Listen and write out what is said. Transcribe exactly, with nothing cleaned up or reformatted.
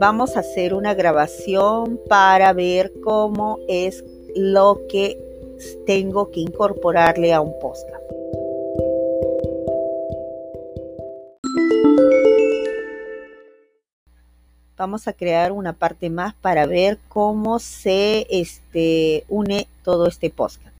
Vamos a hacer una grabación para ver cómo es lo que tengo que incorporarle a un podcast. Vamos a crear una parte más para ver cómo se este, une todo este podcast.